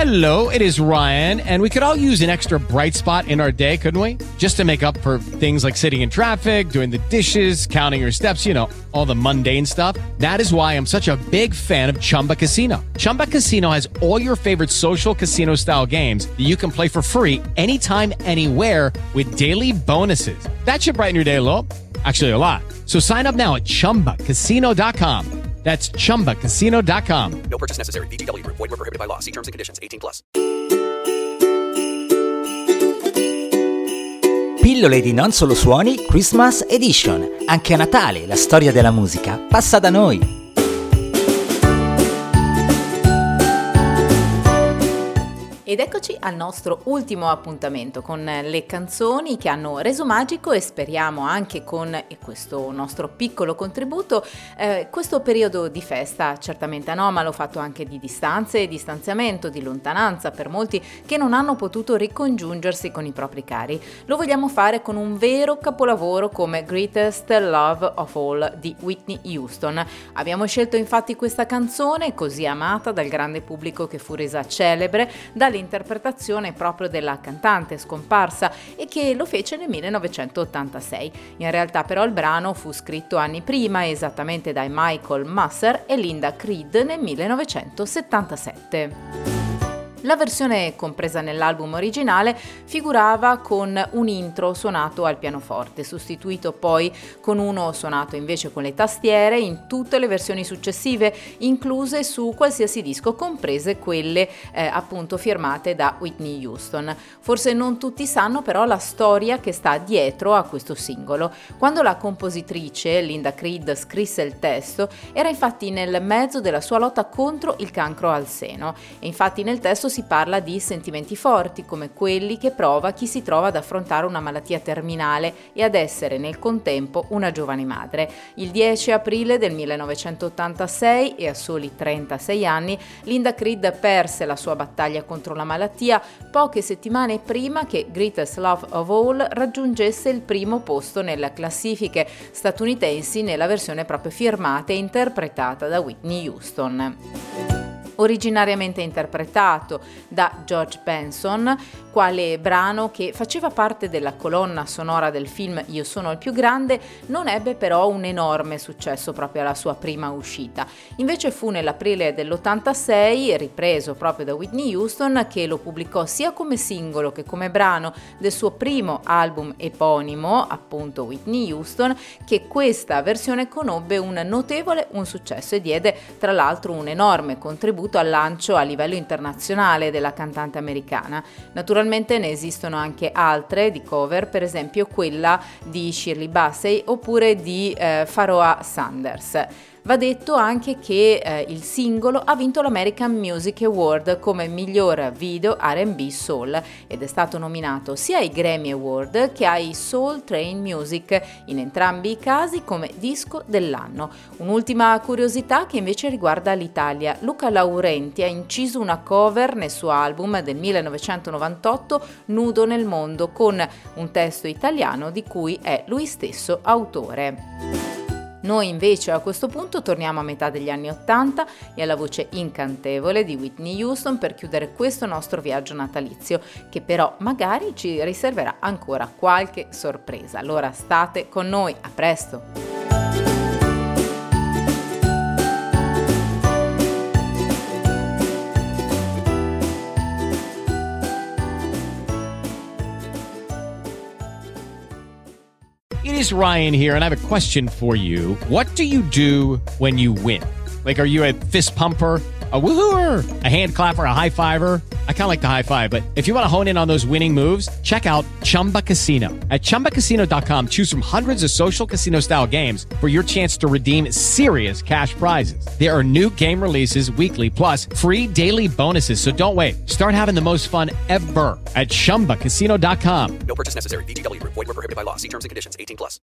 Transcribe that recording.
Hello, it is Ryan, and we could all use an extra bright spot in our day, couldn't we? Just to make up for things like sitting in traffic, doing the dishes, counting your steps, you know, all the mundane stuff. That is why I'm such a big fan of Chumba Casino. Chumba Casino has all your favorite social casino-style games that you can play for free anytime, anywhere with daily bonuses. That should brighten your day a little. Actually, a lot. So sign up now at ChumbaCasino.com. That's ChumbaCasino.com. No purchase necessary. VGW Group. Void where prohibited by law. See terms and conditions. 18+. Pillole di Non Solo Suoni Christmas Edition. Anche a Natale la storia della musica passa da noi. Ed eccoci al nostro ultimo appuntamento con le canzoni che hanno reso magico e speriamo anche con questo nostro piccolo contributo questo periodo di festa certamente anomalo, fatto anche di distanze e distanziamento, di lontananza per molti che non hanno potuto ricongiungersi con i propri cari. Lo vogliamo fare con un vero capolavoro come Greatest Love of All di Whitney Houston. Abbiamo scelto infatti questa canzone così amata dal grande pubblico che fu resa celebre dall'interpretazione proprio della cantante scomparsa e che lo fece nel 1986. In realtà però il brano fu scritto anni prima, esattamente dai Michael Musser e Linda Creed nel 1977. La versione compresa nell'album originale figurava con un intro suonato al pianoforte, sostituito poi con uno suonato invece con le tastiere in tutte le versioni successive, incluse su qualsiasi disco, comprese quelle appunto firmate da Whitney Houston. Forse non tutti sanno però la storia che sta dietro a questo singolo. Quando la compositrice Linda Creed scrisse il testo, era infatti nel mezzo della sua lotta contro il cancro al seno e infatti nel testo si parla di sentimenti forti come quelli che prova chi si trova ad affrontare una malattia terminale e ad essere nel contempo una giovane madre. Il 10 aprile del 1986 e a soli 36 anni Linda Creed perse la sua battaglia contro la malattia poche settimane prima che Greatest Love of All raggiungesse il primo posto nelle classifiche statunitensi nella versione proprio firmata e interpretata da Whitney Houston. Originariamente interpretato da George Benson, quale brano che faceva parte della colonna sonora del film Io sono il più grande, non ebbe però un enorme successo proprio alla sua prima uscita. Invece fu nell'aprile dell'86, ripreso proprio da Whitney Houston, che lo pubblicò sia come singolo che come brano del suo primo album eponimo, appunto Whitney Houston, che questa versione conobbe un successo e diede tra l'altro un enorme contributo al lancio a livello internazionale della cantante americana. Naturalmente ne esistono anche altre di cover, per esempio quella di Shirley Bassey oppure di Pharoah Sanders. Va detto anche che il singolo ha vinto l'American Music Award come miglior video R&B Soul ed è stato nominato sia ai Grammy Award che ai Soul Train Music, in entrambi i casi come disco dell'anno. Un'ultima curiosità che invece riguarda l'Italia. Luca Laurenti ha inciso una cover nel suo album del 1998 Nudo nel mondo con un testo italiano di cui è lui stesso autore. Noi invece a questo punto torniamo a metà degli anni '80 e alla voce incantevole di Whitney Houston per chiudere questo nostro viaggio natalizio, che però magari ci riserverà ancora qualche sorpresa. Allora state con noi, a presto! It is Ryan here, and I have a question for you. What do you do when you win? Like, are you a fist pumper, a woohooer, a hand clapper, a high fiver? I kind of like the high five, but if you want to hone in on those winning moves, check out Chumba Casino. At ChumbaCasino.com, choose from hundreds of social casino-style games for your chance to redeem serious cash prizes. There are new game releases weekly, plus free daily bonuses, so don't wait. Start having the most fun ever at ChumbaCasino.com. No purchase necessary. VGW Group. Void where prohibited by law. See terms and conditions. 18+.